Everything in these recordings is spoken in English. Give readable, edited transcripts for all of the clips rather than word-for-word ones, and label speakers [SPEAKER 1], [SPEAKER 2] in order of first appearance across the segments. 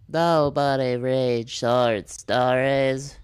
[SPEAKER 1] Nobody reads short stories.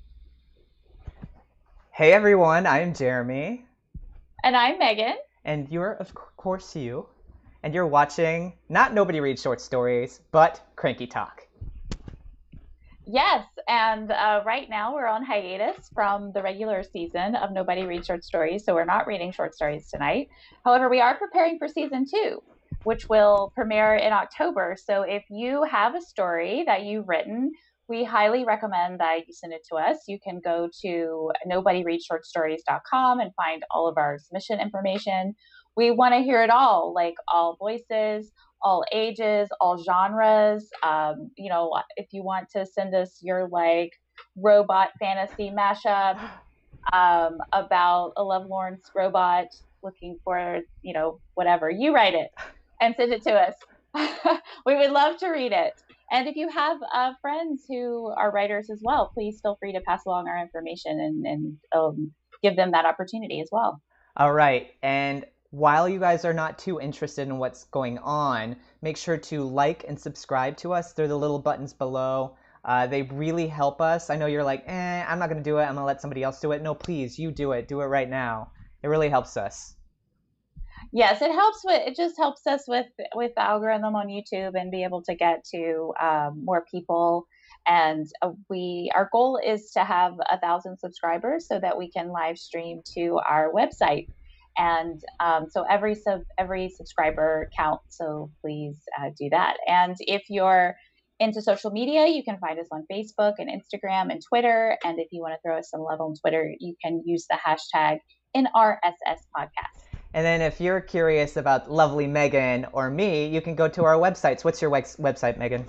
[SPEAKER 2] Hey everyone, I'm Jeremy,
[SPEAKER 3] And I'm Megan.
[SPEAKER 2] and you're of course you, and you're watching not Nobody Reads Short Stories, but Cranky Talk.
[SPEAKER 3] Yes, and right now we're on hiatus from the regular season of Nobody Reads Short Stories, so we're not reading short stories tonight. However, we are preparing for season 2, which will premiere in October. So if you have a story that you've written, we highly recommend that you send it to us. You can go to nobodyreadshortstories.com and find all of our submission information. We want to hear it all, like all voices, all ages, all genres. If you want to send us your robot fantasy mashup about a lovelorn robot looking for, whatever, you write it and send it to us. We would love to read it. And if you have friends who are writers as well, please feel free to pass along our information and give them that opportunity as well.
[SPEAKER 2] All right, and while you guys are not too interested in what's going on, make sure to like and subscribe to us. They're the little buttons below. They really help us. I know you're like, I'm not going to do it. I'm going to let somebody else do it. No, please, you do it. Do it right now. It really helps us.
[SPEAKER 3] Yes, it just helps us with the algorithm on YouTube and be able to get to more people. And our goal is to have 1,000 subscribers so that we can live stream to our website. And so every subscriber counts. So please do that. And if you're into social media, you can find us on Facebook and Instagram and Twitter. And if you want to throw us some love on Twitter, you can use the hashtag NRSS podcast.
[SPEAKER 2] And then if you're curious about lovely Megan or me, you can go to our websites. What's your website, Megan?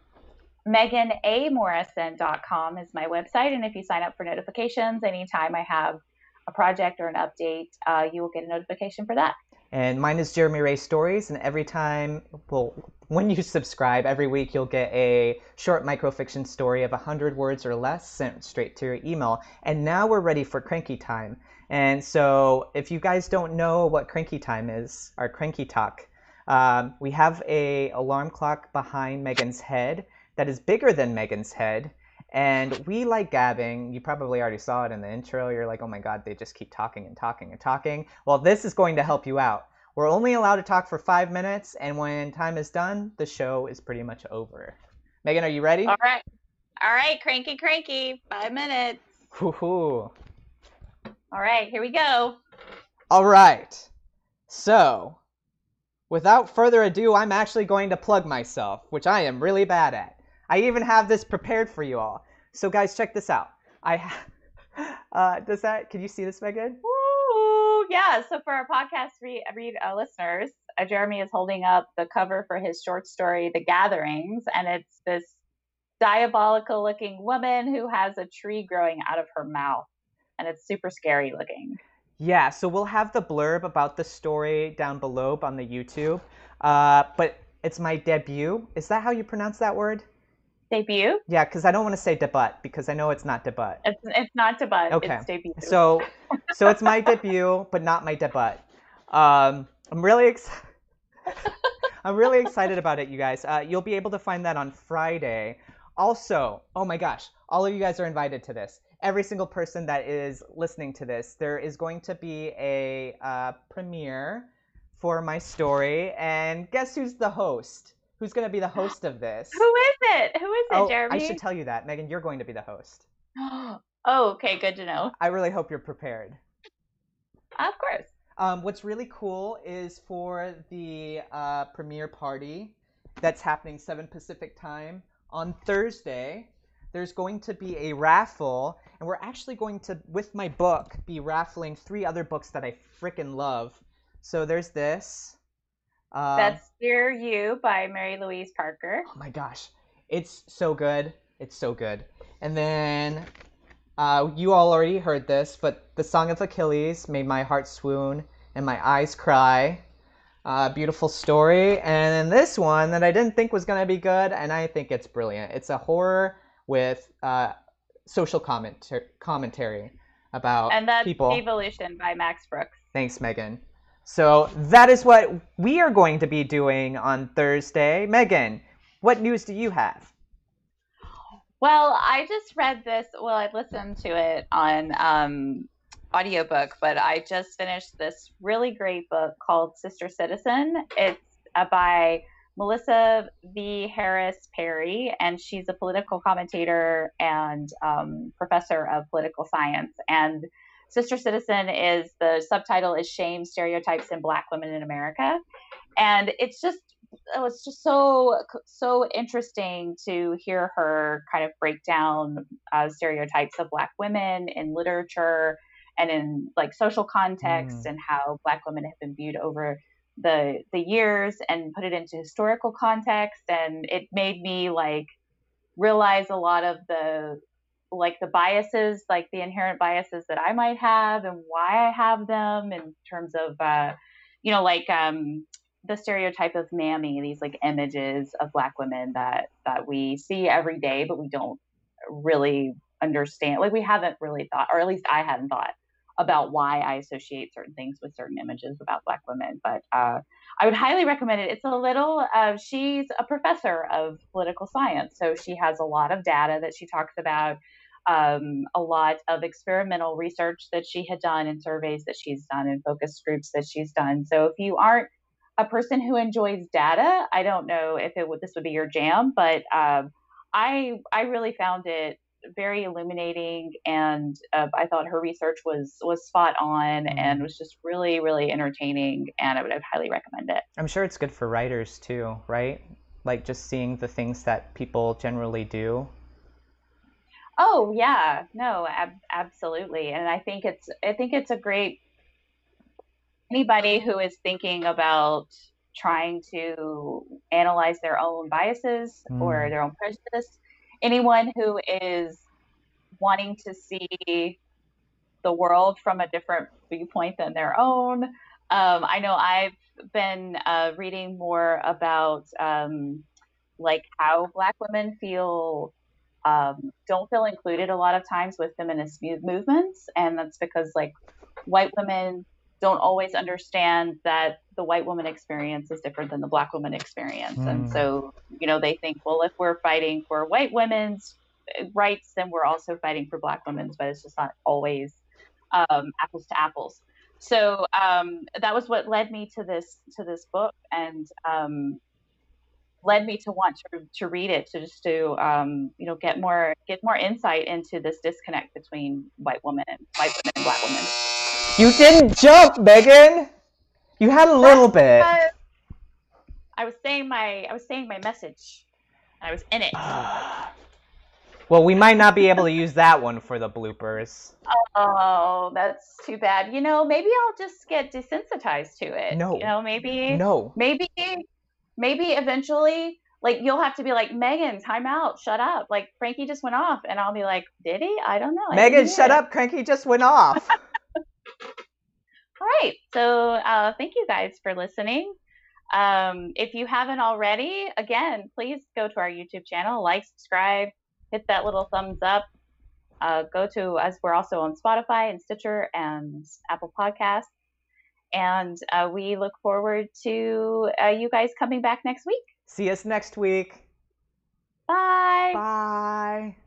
[SPEAKER 3] MeganAMorrison.com is my website. And if you sign up for notifications, anytime I have a project or an update, you will get a notification for that.
[SPEAKER 2] And mine is Jeremy Ray Stories. And when you subscribe, every week you'll get a short microfiction story of 100 words or less sent straight to your email. And now we're ready for Cranky Time. And so if you guys don't know what Cranky Time is, our Cranky Talk, we have a alarm clock behind Megan's head that is bigger than Megan's head. And we like gabbing. You probably already saw it in the intro. You're like, oh my God, they just keep talking and talking and talking. Well, this is going to help you out. We're only allowed to talk for 5 minutes. And when time is done, the show is pretty much over. Megan, are you ready?
[SPEAKER 3] All right. Cranky. 5 minutes.
[SPEAKER 2] Woohoo.
[SPEAKER 3] All right, here we go.
[SPEAKER 2] All right. So, without further ado, I'm actually going to plug myself, which I am really bad at. I even have this prepared for you all. So, guys, check this out. Can you see this, Megan?
[SPEAKER 3] Woo! Yeah. So, for our podcast listeners, Jeremy is holding up the cover for his short story, The Gatherings, and it's this diabolical-looking woman who has a tree growing out of her mouth. And it's super scary looking.
[SPEAKER 2] Yeah, so we'll have the blurb about the story down below on the YouTube. But it's my debut. Is that how you pronounce that word?
[SPEAKER 3] Debut?
[SPEAKER 2] Yeah, because I don't want to say debut, because I know it's not debut.
[SPEAKER 3] It's not debut.
[SPEAKER 2] Okay.
[SPEAKER 3] It's debut.
[SPEAKER 2] So it's my debut, but not my debut. I'm really excited. I'm really excited about it, you guys. You'll be able to find that on Friday. Also, oh my gosh, all of you guys are invited to this. Every single person that is listening to this, there is going to be a premiere for my story. And guess who's the host? Who's going to be the host of this?
[SPEAKER 3] Who is it? Who is it, Jeremy?
[SPEAKER 2] I should tell you that. Megan, you're going to be the host.
[SPEAKER 3] Oh, okay. Good to know.
[SPEAKER 2] I really hope you're prepared.
[SPEAKER 3] Of course.
[SPEAKER 2] What's really cool is for the premiere party that's happening 7 Pacific time on Thursday, there's going to be a raffle, and we're actually going to, with my book, be raffling 3 other books that I frickin' love. So there's this.
[SPEAKER 3] That's Dear You by Mary Louise Parker.
[SPEAKER 2] Oh my gosh. It's so good. It's so good. And then you all already heard this, but The Song of Achilles made my heart swoon and my eyes cry. Beautiful story. And then this one that I didn't think was going to be good, and I think it's brilliant. It's a horror with social commentary about
[SPEAKER 3] and that's
[SPEAKER 2] people.
[SPEAKER 3] Evolution by Max Brooks.
[SPEAKER 2] Thanks, Megan. So that is what we are going to be doing on Thursday. Megan, what news do you have?
[SPEAKER 3] Well, I just read this. Well, I listened to it on audiobook, but I just finished this really great book called Sister Citizen. It's by Melissa V. Harris Perry, and she's a political commentator and professor of political science. And Sister Citizen is the subtitle is Shame, Stereotypes, and Black Women in America. And it's just so interesting to hear her kind of break down stereotypes of Black women in literature and in like social context and how Black women have been viewed over the years, and put it into historical context. And it made me like realize a lot of the biases, like the inherent biases that I might have and why I have them in terms of the stereotype of mammy, these like images of Black women that we see every day, but we don't really understand. Like we haven't really thought, or at least I hadn't thought about why I associate certain things with certain images about Black women. But I would highly recommend it. It's a little, she's a professor of political science, so she has a lot of data that she talks about, a lot of experimental research that she had done and surveys that she's done and focus groups that she's done. So if you aren't a person who enjoys data, I don't know if this would be your jam, but I really found it very illuminating, and I thought her research was spot on and was just really, really entertaining, and I would highly recommend it.
[SPEAKER 2] I'm sure it's good for writers too, right? Like just seeing the things that people generally do.
[SPEAKER 3] Oh yeah, no, absolutely, and I think it's a great, anybody who is thinking about trying to analyze their own biases or their own prejudice, anyone who is wanting to see the world from a different viewpoint than their own. I know I've been reading more about like how Black women don't feel included a lot of times with feminist movements, and that's because like white women don't always understand that the white woman experience is different than the Black woman experience. And so, they think, well, if we're fighting for white women's rights, then we're also fighting for Black women's, but it's just not always apples to apples. So that was what led me to this book, and led me to want to read it, to get more insight into this disconnect between white women and Black women.
[SPEAKER 2] You didn't jump, Megan. You had a little bit.
[SPEAKER 3] I was saying my message. I was in it.
[SPEAKER 2] Well, we might not be able to use that one for the bloopers.
[SPEAKER 3] Oh, that's too bad. Maybe I'll just get desensitized to it.
[SPEAKER 2] No.
[SPEAKER 3] Maybe.
[SPEAKER 2] No.
[SPEAKER 3] Maybe eventually, like, you'll have to be like, Megan, time out, shut up. Like, Frankie just went off, and I'll be like, did he? I don't know.
[SPEAKER 2] Megan, shut up. Frankie just went off.
[SPEAKER 3] All right. So thank you guys for listening. If you haven't already, again, please go to our YouTube channel, like, subscribe, hit that little thumbs up. Go to us. We're also on Spotify and Stitcher and Apple Podcasts. And we look forward to you guys coming back next week.
[SPEAKER 2] See us next week.
[SPEAKER 3] Bye.
[SPEAKER 2] Bye.